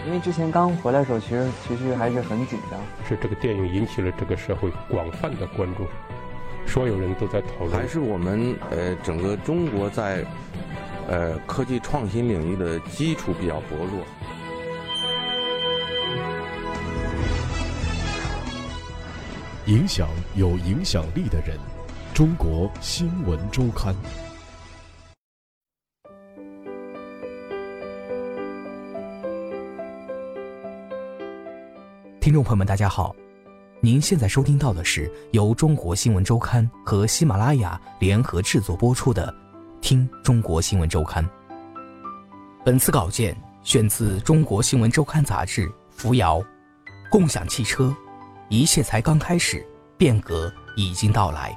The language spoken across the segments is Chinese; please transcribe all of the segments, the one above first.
因为之前刚回来的时候，其实还是很紧张。 是这个电影引起了这个社会广泛的关注，所有人都在讨论。 还是我们整个中国在科技创新领域的基础比较薄弱。 影响有影响力的人，中国新闻周刊。 听众朋友们大家好，您现在收听到的是由中国新闻周刊和喜马拉雅联合制作播出的听中国新闻周刊。本次稿件选自中国新闻周刊杂志扶摇。共享汽车，一切才刚开始，变革已经到来。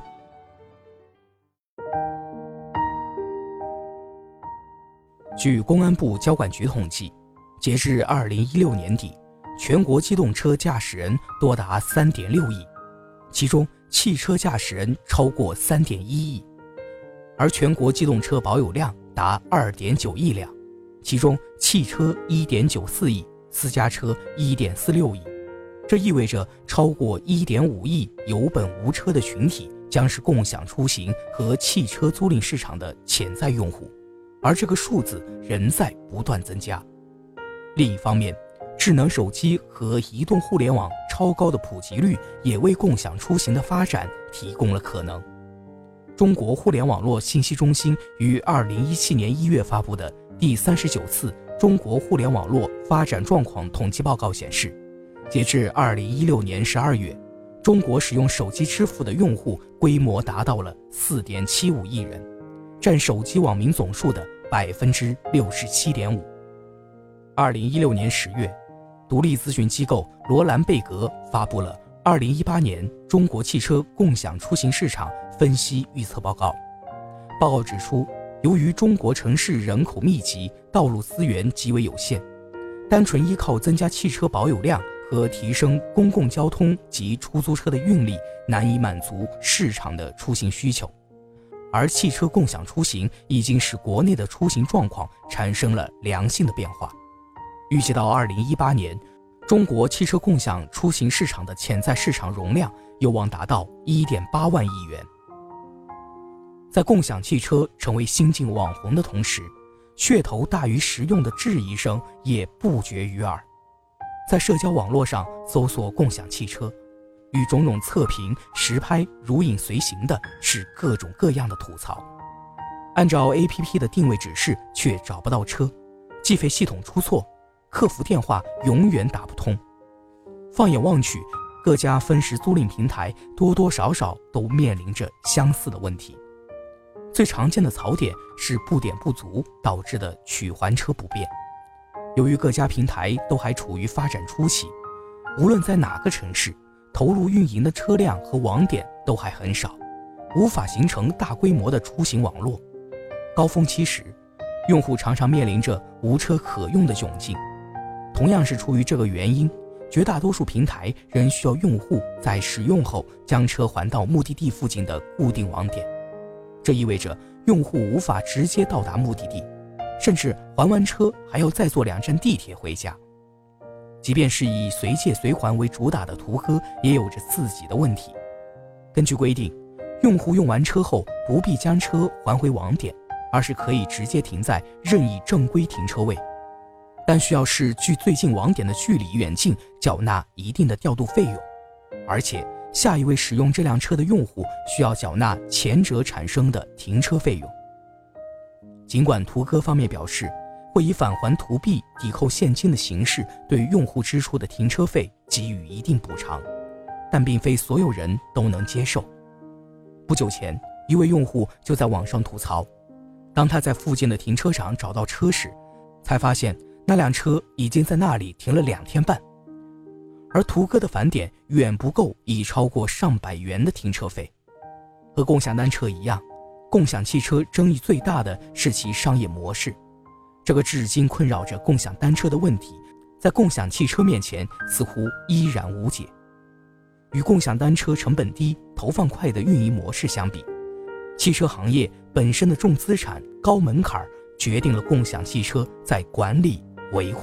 据公安部交管局统计，截至2016年底，全国机动车驾驶人多达 3.6 亿，其中汽车驾驶人超过 3.1 亿，而全国机动车保有量达 2.9 亿辆，其中汽车 1.94 亿，私家车 1.46 亿。这意味着超过 1.5 亿有本无车的群体将是共享出行和汽车租赁市场的潜在用户，而这个数字仍在不断增加。另一方面，智能手机和移动互联网超高的普及率也为共享出行的发展提供了可能。中国互联网络信息中心于2017年1月发布的第39次中国互联网络发展状况统计报告显示，截至2016年12月，中国使用手机支付的用户规模达到了 4.75 亿人，占手机网民总数的 67.5%。2016年10月，独立咨询机构罗兰贝格发布了2018年中国汽车共享出行市场分析预测报告。报告指出，由于中国城市人口密集，道路资源极为有限，单纯依靠增加汽车保有量和提升公共交通及出租车的运力难以满足市场的出行需求，而汽车共享出行已经使国内的出行状况产生了良性的变化。预计到2018年，中国汽车共享出行市场的潜在市场容量有望达到 1.8 万亿元。在共享汽车成为新晋网红的同时，噱头大于实用的质疑声也不绝于耳。在社交网络上搜索共享汽车，与种种测评、实拍如影随形的是各种各样的吐槽。按照 APP 的定位指示却找不到车，计费系统出错，客服电话永远打不通。放眼望去，各家分时租赁平台多多少少都面临着相似的问题。最常见的槽点是布点不足导致的取还车不便。由于各家平台都还处于发展初期，无论在哪个城市，投入运营的车辆和网点都还很少，无法形成大规模的出行网络。高峰期时，用户常常面临着无车可用的窘境。同样是出于这个原因，绝大多数平台仍需要用户在使用后将车还到目的地附近的固定网点。这意味着用户无法直接到达目的地，甚至还完车还要再坐2站地铁回家。即便是以随借随还为主打的途歌，也有着自己的问题。根据规定，用户用完车后不必将车还回网点，而是可以直接停在任意正规停车位，但需要视距最近网点的距离远近缴纳一定的调度费用，而且下一位使用这辆车的用户需要缴纳前者产生的停车费用。尽管途歌方面表示会以返还途币抵扣现金的形式对用户支出的停车费给予一定补偿，但并非所有人都能接受。不久前，一位用户就在网上吐槽，当他在附近的停车场找到车时，才发现那辆车已经在那里停了2天半，而途歌的返点远不够已超过上百元的停车费。和共享单车一样，共享汽车争议最大的是其商业模式。这个至今困扰着共享单车的问题，在共享汽车面前似乎依然无解。与共享单车成本低、投放快的运营模式相比，汽车行业本身的重资产、高门槛决定了共享汽车在管理、维护、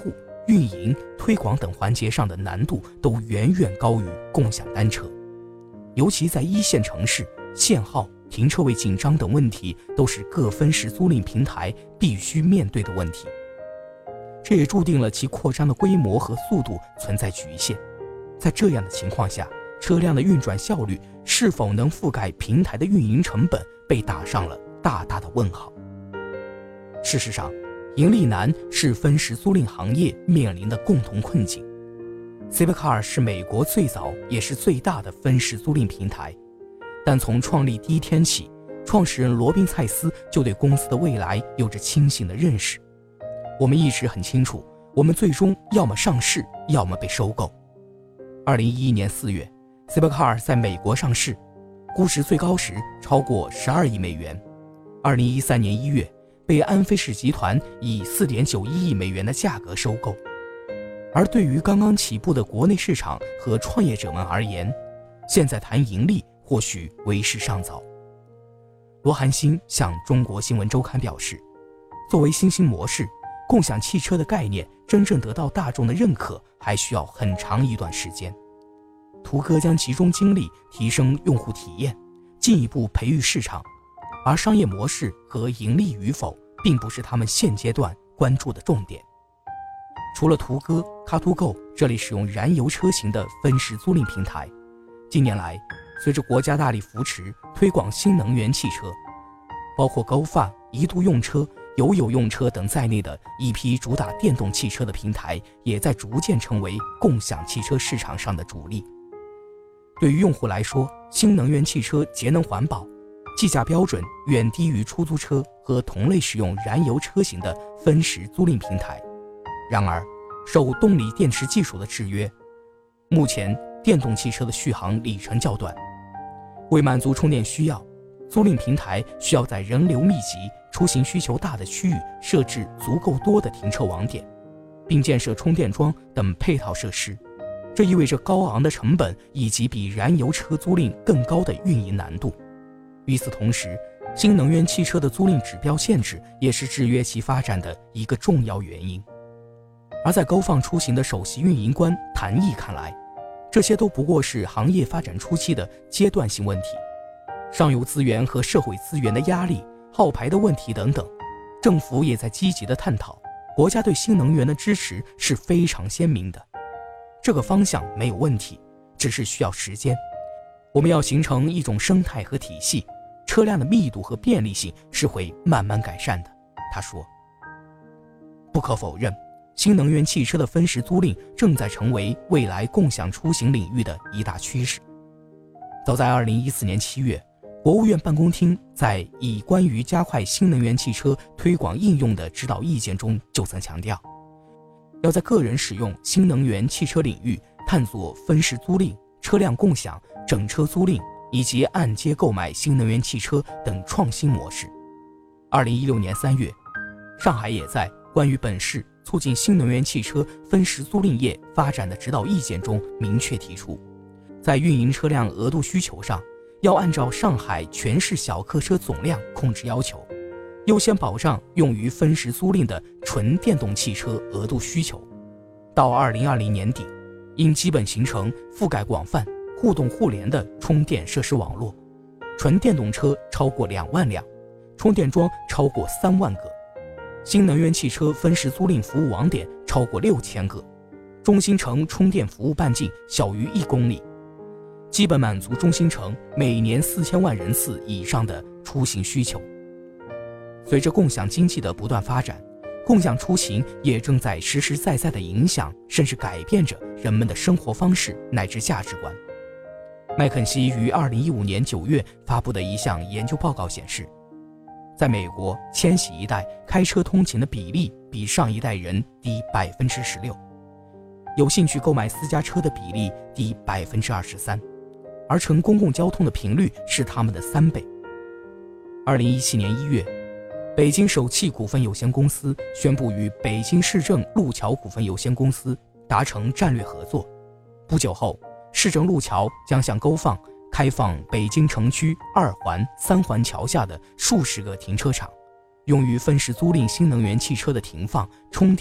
运营、推广等环节上的难度都远远高于共享单车。尤其在一线城市，限号、停车位紧张等问题都是各分时租赁平台必须面对的问题。这也注定了其扩张的规模和速度存在局限。在这样的情况下，车辆的运转效率是否能覆盖平台的运营成本，被打上了大大的问号。事实上，盈利难是分时租赁行业面临的共同困境。Zipcar 是美国最早也是最大的分时租赁平台，但从创立第一天起，创始人罗宾·蔡斯就对公司的未来有着清醒的认识。我们一直很清楚，我们最终要么上市，要么被收购。2011年4月 Zipcar 在美国上市，估值最高时超过12亿美元。2013年1月被安飞士集团以4.91亿美元的价格收购。而对于刚刚起步的国内市场和创业者们而言，现在谈盈利或许为时尚早。罗寒星向中国新闻周刊表示，作为新兴模式，共享汽车的概念真正得到大众的认可还需要很长一段时间。途哥将集中精力提升用户体验，进一步培育市场，而商业模式和盈利与否并不是他们现阶段关注的重点。除了途哥、Car2Go 这类使用燃油车型的分时租赁平台，近年来随着国家大力扶持推广新能源汽车，包括GoFun、一度用车、有用车等在内的一批主打电动汽车的平台也在逐渐成为共享汽车市场上的主力。对于用户来说，新能源汽车节能环保，计价标准远低于出租车和同类使用燃油车型的分时租赁平台。然而，受动力电池技术的制约，目前电动汽车的续航里程较短，为满足充电需要，租赁平台需要在人流密集、出行需求大的区域设置足够多的停车网点，并建设充电桩等配套设施。这意味着高昂的成本以及比燃油车租赁更高的运营难度。与此同时，新能源汽车的租赁指标限制也是制约其发展的一个重要原因。而在GoFun出行的首席运营官谭毅看来，这些都不过是行业发展初期的阶段性问题，上游资源和社会资源的压力、号牌的问题等等，政府也在积极的探讨。国家对新能源的支持是非常鲜明的，这个方向没有问题，只是需要时间。我们要形成一种生态和体系，车辆的密度和便利性是会慢慢改善的。他说，不可否认，新能源汽车的分时租赁正在成为未来共享出行领域的一大趋势。早在2014年7月，国务院办公厅在以关于加快新能源汽车推广应用的指导意见中就曾强调，要在个人使用新能源汽车领域探索分时租赁、车辆共享、整车租赁以及按揭购买新能源汽车等创新模式。2016年3月，上海也在关于本市促进新能源汽车分时租赁业发展的指导意见中明确提出，在运营车辆额度需求上，要按照上海全市小客车总量控制要求，优先保障用于分时租赁的纯电动汽车额度需求。到2020年底，应基本形成覆盖广泛、互动互联的充电设施网络，纯电动车超过2万辆，充电桩超过3万个，新能源汽车分时租赁服务网点超过6000个，中心城充电服务半径小于1公里，基本满足中心城每年4000万人次以上的出行需求。随着共享经济的不断发展，共享出行也正在实实在在地影响甚至改变着人们的生活方式乃至价值观。麦肯锡于2015年9月发布的一项研究报告显示，在美国，千禧一代开车通勤的比例比上一代人低16%，有兴趣购买私家车的比例低23%，而乘公共交通的频率是他们的3倍。2017年1月，北京首汽股份有限公司宣布与北京市政路桥股份有限公司达成战略合作。不久后，市政路桥将向GoFun开放北京城区2环、3环桥下的数十个停车场，用于分时租赁新能源汽车的停放、充电、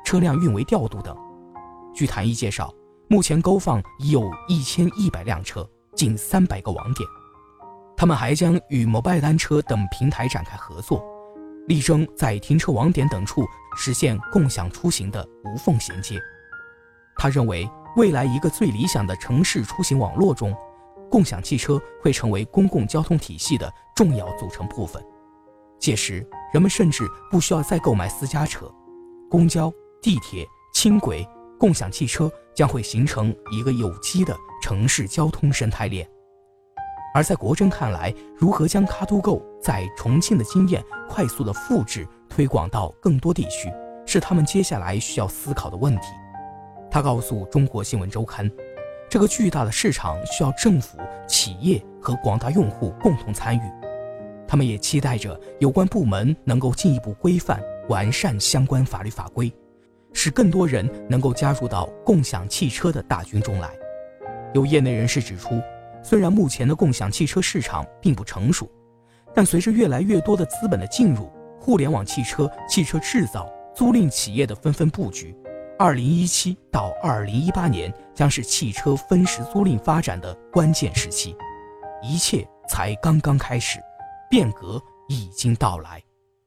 车辆运维调度等。据谭毅介绍，目前勾放已有1100辆车，近300个网点。他们还将与摩拜单车等平台展开合作，力争在停车网点等处实现共享出行的无缝衔接。他认为，未来一个最理想的城市出行网络中，共享汽车会成为公共交通体系的重要组成部分。届时，人们甚至不需要再购买私家车，公交、地铁、轻轨、共享汽车将会形成一个有机的城市交通生态链。而在国珍看来，如何将卡都购在重庆的经验快速的复制推广到更多地区，是他们接下来需要思考的问题。他告诉中国新闻周刊，这个巨大的市场需要政府、企业和广大用户共同参与。他们也期待着有关部门能够进一步规范、完善相关法律法规，使更多人能够加入到共享汽车的大军中来。有业内人士指出，虽然目前的共享汽车市场并不成熟，但随着越来越多的资本的进入，互联网汽车、汽车制造、租赁企业的纷纷布局，2017到2018年将是汽车分时租赁发展的关键时期。一切才刚刚开始，变革已经到来。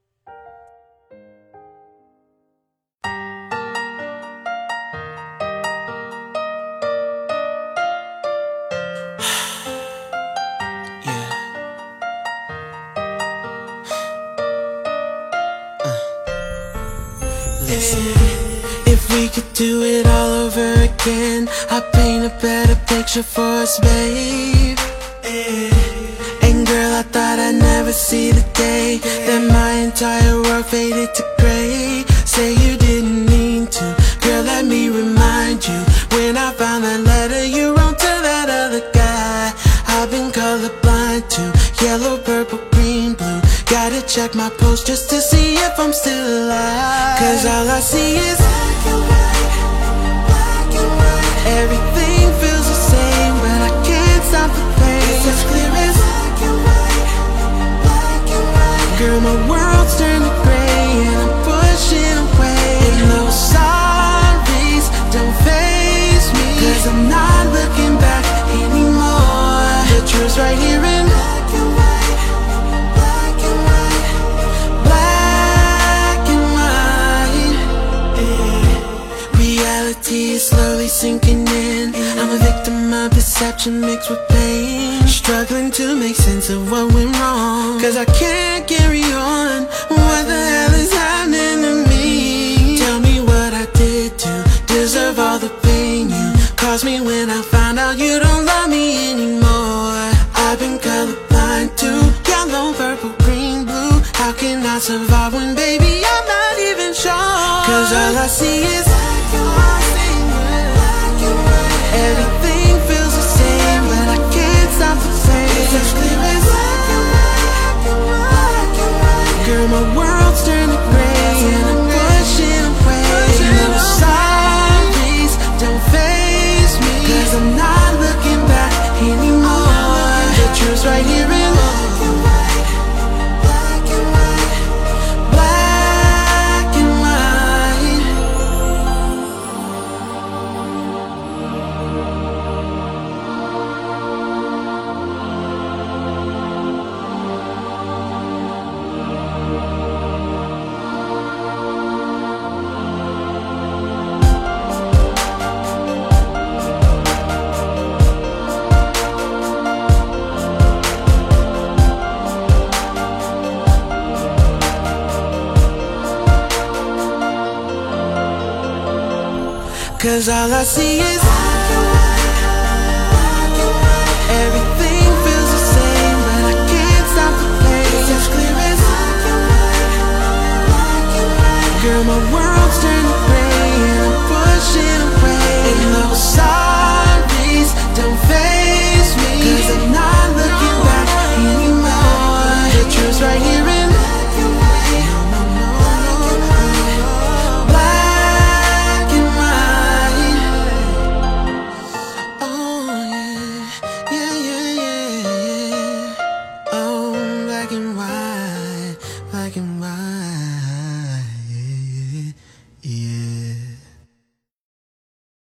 If we could do it all over again, I'd paint a better picture for us, babe. And girl, I thought I'd never see the day that my entire world faded to gray. Say you didn't mean to, girl, let me remind you. When I found that letter you wrote to that other guy, I've been colorblind to yellow, purple, green, blue. Gotta check my post just to see if I'm still alive. Cause all I see is black and white, black and white. Everything feels the same, but I can't stop the pain. It's as clear as black and white, black and white. Girl, my world's turning gray and I'm pushing away. And those sorries don't faze me, cause I'm not looking back anymore. The truth's right here in black and white. Reality is slowly sinking in. I'm a victim of deception mixed with pain, struggling to make sense of what went wrong. Cause I can't carry on. What the hell is happening to me? Tell me what I did to deserve all the pain you caused me when I found out you don't love me anymore. I've been colorblind to yellow, purple, green, blue. How can I survive when, baby, I'm not even sure? Cause all I see is black and white. Everything feels the same, but I can't stop the pain. It's as clear as black and white. Girl, my world's turning gray and I'm pushing away. No sorries don't faze me, cause I'm not looking back anymore. The truth's right here in black and white, black and white, black and white. Cause all I see is black and white. Everything feels the same, but I can't stop the pain. It's as clear as black and white. Girl, my world's turning gray and I'm pushing away. And those sorries don't faze me, cause I'm not looking back anymore. The truth's right here in black and white. Black and white, yeah.